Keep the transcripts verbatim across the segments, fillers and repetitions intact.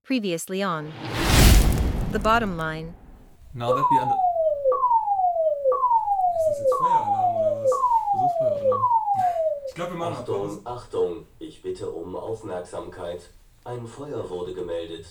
Previously on The Bottom Line. Now that we under... Ist das jetzt Feueralarm oder was? Das ist Feueralarm. Ich glaube, wir machen Achtung, Achtung, ich bitte um Aufmerksamkeit. Ein Feuer wurde gemeldet.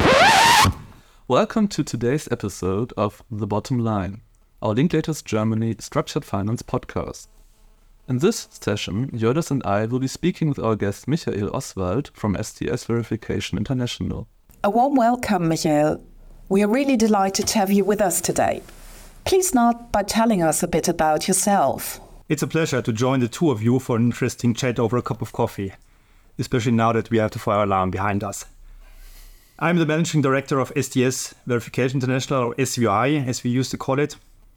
Welcome to today's episode of The Bottom Line, our Linklaters Germany Structured Finance podcast. In this session, Jördis and I will be speaking with our guest Michael Oswald from S T S Verification International. A warm welcome, Michael. We are really delighted to have you with us today. Please start by telling us a bit about yourself. It's a pleasure to join the two of you for an interesting chat over a cup of coffee, especially now that we have the fire alarm behind us. I'm the Managing Director of S T S Verification International, or S V I, as we used to call it.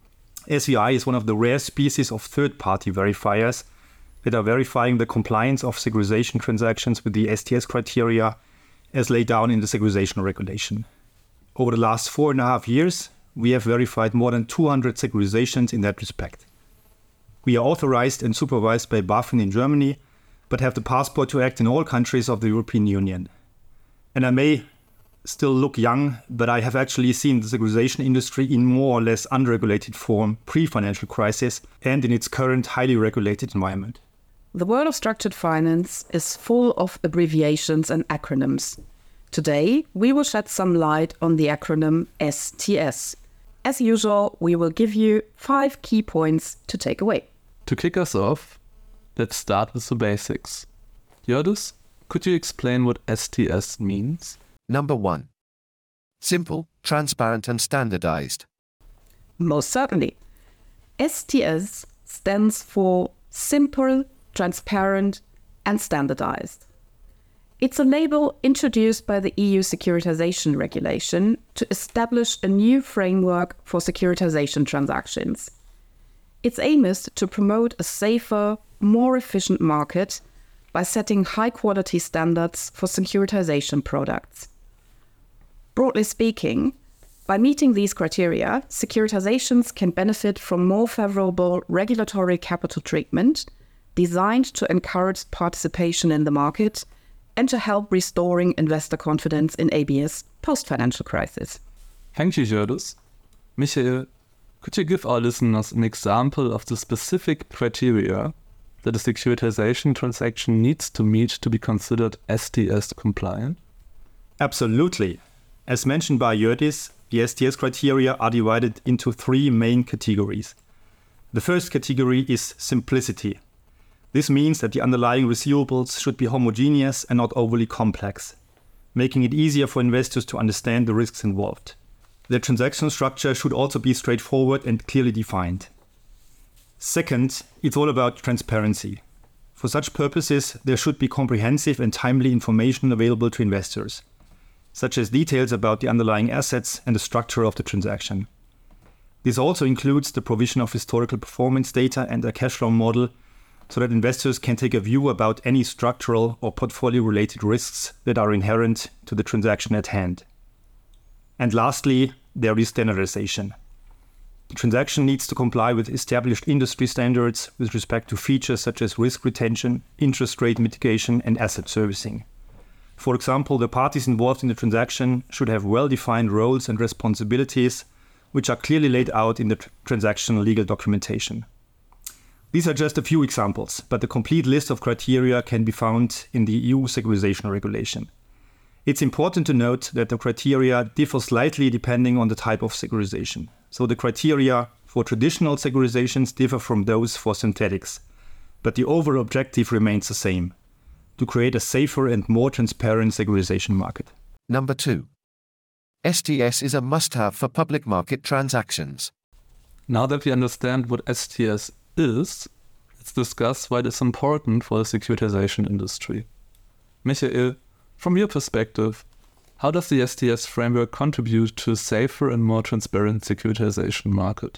S V I is one of the rare species of third-party verifiers that are verifying the compliance of securitization transactions with the S T S criteria as laid down in the securitization regulation. Over the last four and a half years, we have verified more than two hundred securitizations in that respect. We are authorized and supervised by BaFin in Germany, but have the passport to act in all countries of the European Union. And I may still look young, but I have actually seen the securitization industry in more or less unregulated form pre-financial crisis and in its current highly regulated environment. The world of structured finance is full of abbreviations and acronyms. Today, we will shed some light on the acronym S T S. As usual, we will give you five key points to take away. To kick us off, let's start with the basics. Jördis, could you explain what S T S means? Number one. Simple, transparent and standardized. Most certainly. S T S stands for Simple, Transparent and Standardized. It's a label introduced by the E U Securitization Regulation to establish a new framework for securitization transactions. Its aim is to promote a safer, more efficient market by setting high-quality standards for securitization products. Broadly speaking, by meeting these criteria, securitizations can benefit from more favorable regulatory capital treatment designed to encourage participation in the market and to help restoring investor confidence in A B S post-financial crisis. Thank you, Jördis. Michael, could you give our listeners an example of the specific criteria that a securitization transaction needs to meet to be considered S T S compliant? Absolutely. As mentioned by Jördis, the S T S criteria are divided into three main categories. The first category is simplicity. This means that the underlying receivables should be homogeneous and not overly complex, making it easier for investors to understand the risks involved. The transaction structure should also be straightforward and clearly defined. Second, it's all about transparency. For such purposes, there should be comprehensive and timely information available to investors, such as details about the underlying assets and the structure of the transaction. This also includes the provision of historical performance data and a cash flow model so that investors can take a view about any structural or portfolio-related risks that are inherent to the transaction at hand. And lastly, there is standardization. The transaction needs to comply with established industry standards with respect to features such as risk retention, interest rate mitigation, and asset servicing. For example, the parties involved in the transaction should have well-defined roles and responsibilities, which are clearly laid out in the tr- transaction legal documentation. These are just a few examples, but the complete list of criteria can be found in the E U Securitization Regulation. It's important to note that the criteria differ slightly depending on the type of securitization. So the criteria for traditional securitizations differ from those for synthetics, but the overall objective remains the same: to create a safer and more transparent securitization market. Number two. S T S is a must-have for public market transactions. Now that we understand what S T S is, let's discuss why it is important for the securitization industry. Michael, from your perspective, how does the S T S framework contribute to a safer and more transparent securitization market?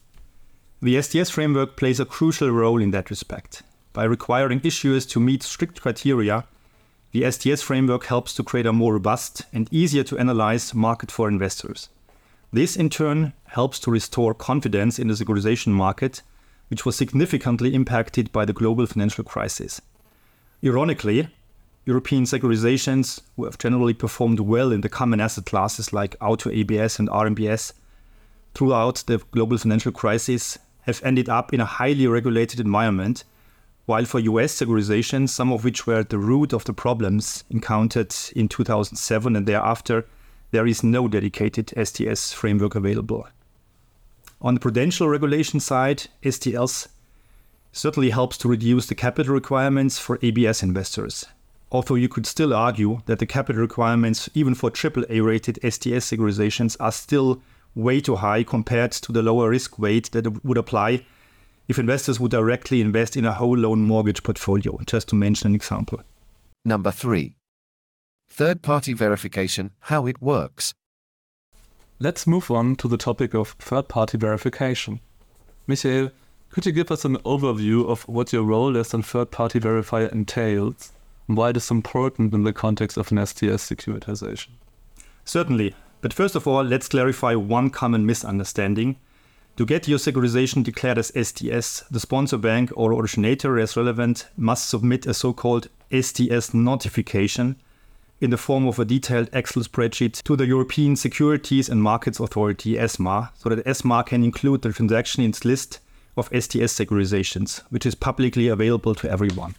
The S T S framework plays a crucial role in that respect. By requiring issuers to meet strict criteria, the S T S framework helps to create a more robust and easier to analyze market for investors. This, in turn, helps to restore confidence in the securitization market, which was significantly impacted by the global financial crisis. Ironically, European securitizations, who have generally performed well in the common asset classes like auto A B S and R M B S throughout the global financial crisis, have ended up in a highly regulated environment, while for U S securitizations, some of which were at the root of the problems encountered in two thousand seven and thereafter, there is no dedicated S T S framework available. On the prudential regulation side, S T S certainly helps to reduce the capital requirements for A B S investors. Although you could still argue that the capital requirements even for triple A rated S T S securitizations are still way too high compared to the lower risk weight that would apply if investors would directly invest in a whole loan mortgage portfolio, just to mention an example. Number three. Third-party verification, how it works. Let's move on to the topic of third-party verification. Michael, could you give us an overview of what your role as a third-party verifier entails and why it is important in the context of an S T S securitization? Certainly, but first of all, let's clarify one common misunderstanding. To get your securitization declared as S T S, the sponsor bank or originator, as relevant, must submit a so-called S T S notification in the form of a detailed Excel spreadsheet to the European Securities and Markets Authority, ESMA, so that ESMA can include the transaction in its list of S T S securitizations, which is publicly available to everyone.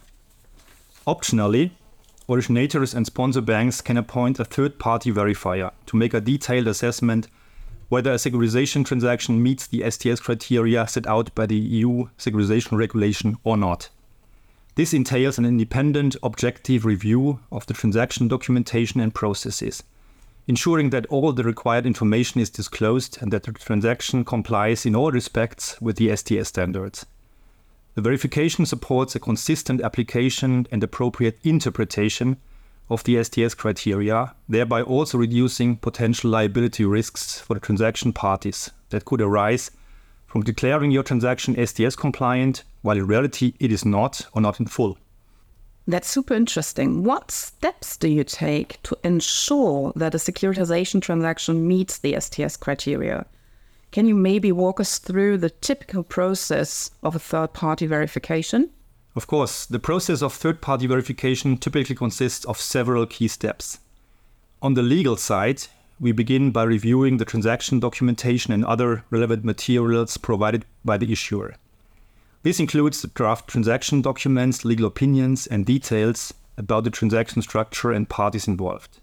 Optionally, originators and sponsor banks can appoint a third-party verifier to make a detailed assessment whether a securitization transaction meets the S T S criteria set out by the E U securitization regulation or not. This entails an independent, objective review of the transaction documentation and processes, ensuring that all the required information is disclosed and that the transaction complies in all respects with the S T S standards. The verification supports a consistent application and appropriate interpretation of the S T S criteria, thereby also reducing potential liability risks for the transaction parties that could arise from declaring your transaction S T S compliant, while in reality it is not or not in full. That's super interesting. What steps do you take to ensure that a securitization transaction meets the S T S criteria? Can you maybe walk us through the typical process of a third-party verification? Of course, the process of third-party verification typically consists of several key steps. On the legal side, we begin by reviewing the transaction documentation and other relevant materials provided by the issuer. This includes the draft transaction documents, legal opinions, and details about the transaction structure and parties involved.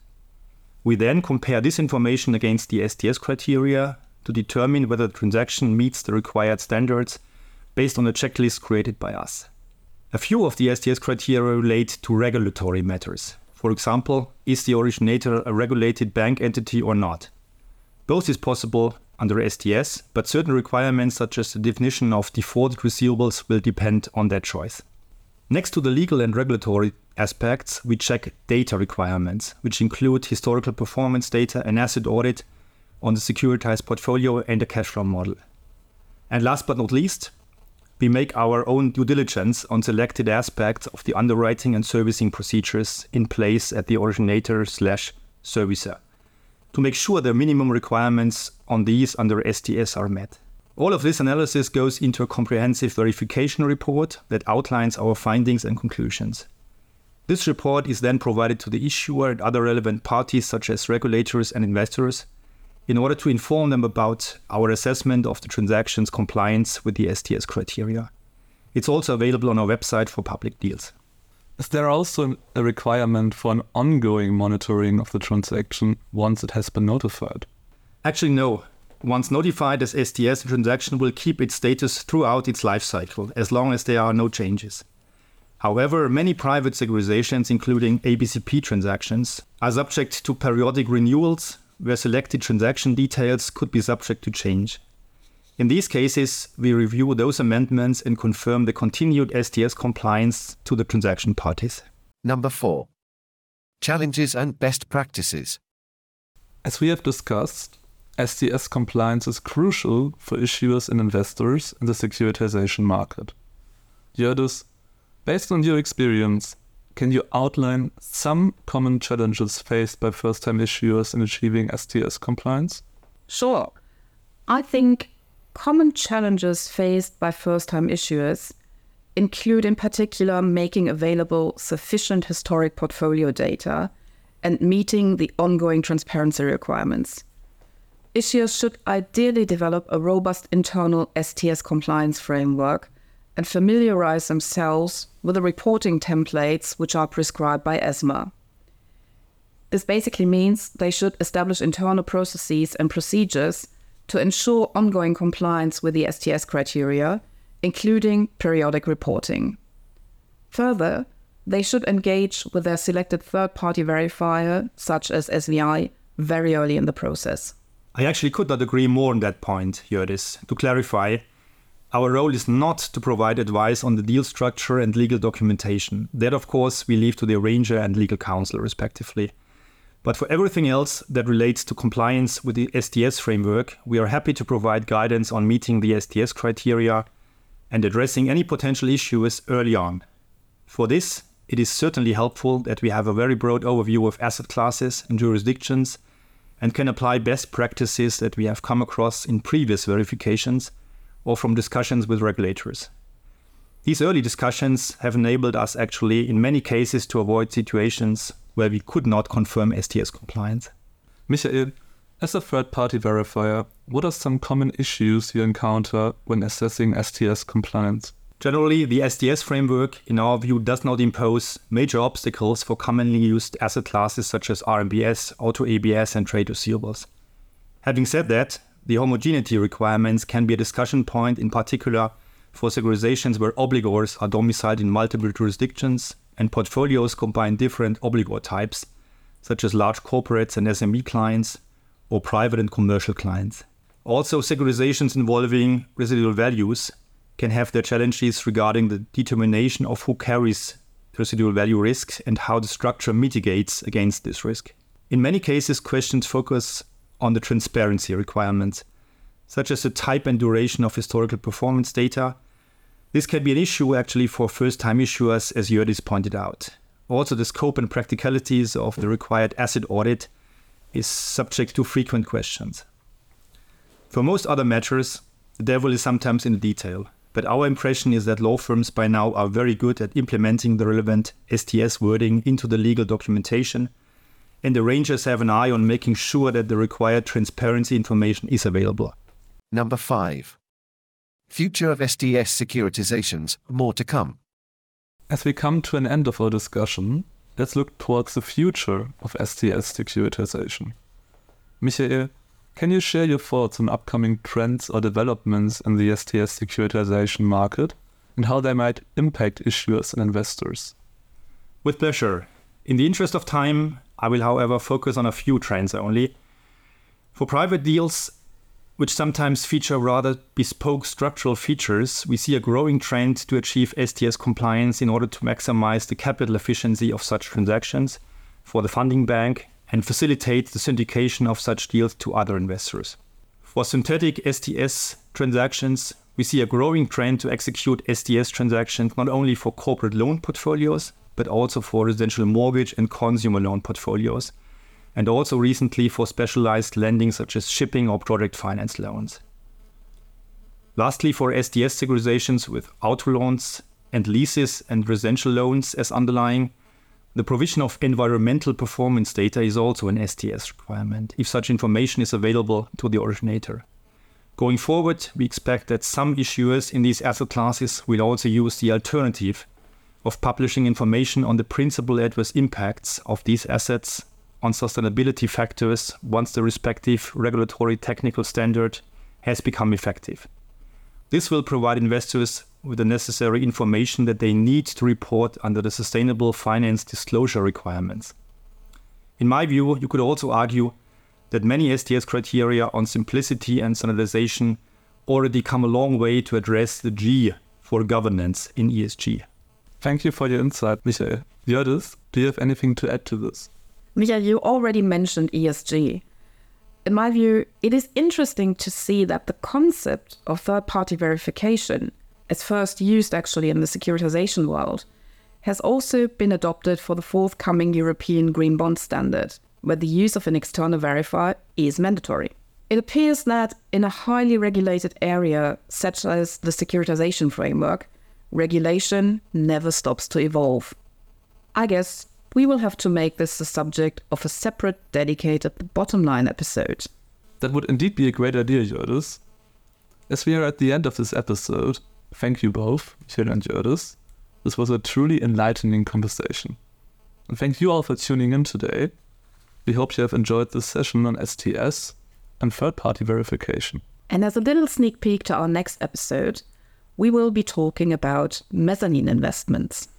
We then compare this information against the S T S criteria to determine whether the transaction meets the required standards based on a checklist created by us. A few of the S T S criteria relate to regulatory matters. For example, is the originator a regulated bank entity or not? Both is possible under S T S, but certain requirements such as the definition of defaulted receivables will depend on that choice. Next to the legal and regulatory aspects, we check data requirements, which include historical performance data and asset audit on the securitized portfolio and a cash flow model. And last but not least, we make our own due diligence on selected aspects of the underwriting and servicing procedures in place at the originator slash servicer to make sure the minimum requirements on these under S T S are met. All of this analysis goes into a comprehensive verification report that outlines our findings and conclusions. This report is then provided to the issuer and other relevant parties such as regulators and investors in order to inform them about our assessment of the transaction's compliance with the S T S criteria. It's also available on our website for public deals. Is there also a requirement for an ongoing monitoring of the transaction once it has been notified? Actually, no. Once notified as S T S, the transaction will keep its status throughout its life cycle, as long as there are no changes. However, many private securitizations, including A B C P transactions, are subject to periodic renewals, where selected transaction details could be subject to change. In these cases, we review those amendments and confirm the continued S T S compliance to the transaction parties. Number four. Challenges and best practices. As we have discussed, S T S compliance is crucial for issuers and investors in the securitization market. Jördis, based on your experience, can you outline some common challenges faced by first-time issuers in achieving S T S compliance? Sure. I think common challenges faced by first-time issuers include in particular making available sufficient historic portfolio data and meeting the ongoing transparency requirements. Issuers should ideally develop a robust internal S T S compliance framework and familiarize themselves with the reporting templates which are prescribed by ESMA. This basically means they should establish internal processes and procedures to ensure ongoing compliance with the S T S criteria, including periodic reporting. Further, they should engage with their selected third-party verifier, such as S V I, very early in the process. I actually could not agree more on that point, Hjördis. To clarify, our role is not to provide advice on the deal structure and legal documentation. That, of course, we leave to the arranger and legal counsel, respectively. But for everything else that relates to compliance with the S T S framework, we are happy to provide guidance on meeting the S T S criteria and addressing any potential issues early on. For this, it is certainly helpful that we have a very broad overview of asset classes and jurisdictions and can apply best practices that we have come across in previous verifications or from discussions with regulators. These early discussions have enabled us actually in many cases to avoid situations where we could not confirm S T S compliance. Michael, as a third-party verifier, what are some common issues you encounter when assessing S T S compliance? Generally, the S T S framework, in our view, does not impose major obstacles for commonly used asset classes such as R M B S, auto A B S, and trade receivables. Having said that, the homogeneity requirements can be a discussion point, in particular for securitizations where obligors are domiciled in multiple jurisdictions and portfolios combine different obligor types, such as large corporates and S M E clients, or private and commercial clients. Also, securitizations involving residual values can have their challenges regarding the determination of who carries residual value risk and how the structure mitigates against this risk. In many cases, questions focus on the transparency requirements, such as the type and duration of historical performance data. This can be an issue actually for first-time issuers, as Hjördis pointed out. Also, the scope and practicalities of the required asset audit is subject to frequent questions. For most other matters, the devil is sometimes in the detail, but our impression is that law firms by now are very good at implementing the relevant S T S wording into the legal documentation, and the arrangers have an eye on making sure that the required transparency information is available. Number five. Future of S T S securitizations, more to come. As we come to an end of our discussion, let's look towards the future of S T S securitization. Michael, can you share your thoughts on upcoming trends or developments in the S T S securitization market and how they might impact issuers and investors? With pleasure. In the interest of time, I will, however, focus on a few trends only. For private deals, which sometimes feature rather bespoke structural features, we see a growing trend to achieve S T S compliance in order to maximize the capital efficiency of such transactions for the funding bank and facilitate the syndication of such deals to other investors. For synthetic S T S transactions, we see a growing trend to execute S T S transactions not only for corporate loan portfolios, but also for residential mortgage and consumer loan portfolios, and also recently for specialized lending such as shipping or project finance loans. Lastly, for S T S securitizations with auto loans and leases and residential loans as underlying, the provision of environmental performance data is also an S T S requirement, if such information is available to the originator. Going forward, we expect that some issuers in these asset classes will also use the alternative of publishing information on the principal adverse impacts of these assets on sustainability factors once the respective regulatory technical standard has become effective. This will provide investors with the necessary information that they need to report under the sustainable finance disclosure requirements. In my view, you could also argue that many S T S criteria on simplicity and standardization already come a long way to address the G for governance in E S G. Thank you for your insight, Michael. Hjördis, do you have anything to add to this? Michael, you already mentioned E S G. In my view, it is interesting to see that the concept of third-party verification, as first used actually in the securitization world, has also been adopted for the forthcoming European Green Bond Standard, where the use of an external verifier is mandatory. It appears that in a highly regulated area, such as the securitization framework, regulation never stops to evolve. I guess we will have to make this the subject of a separate dedicated bottom line episode. That would indeed be a great idea, Jördis. As we are at the end of this episode, thank you both, Michael and Jördis. This was a truly enlightening conversation. And thank you all for tuning in today. We hope you have enjoyed this session on S T S and third-party verification. And as a little sneak peek to our next episode, we will be talking about mezzanine investments.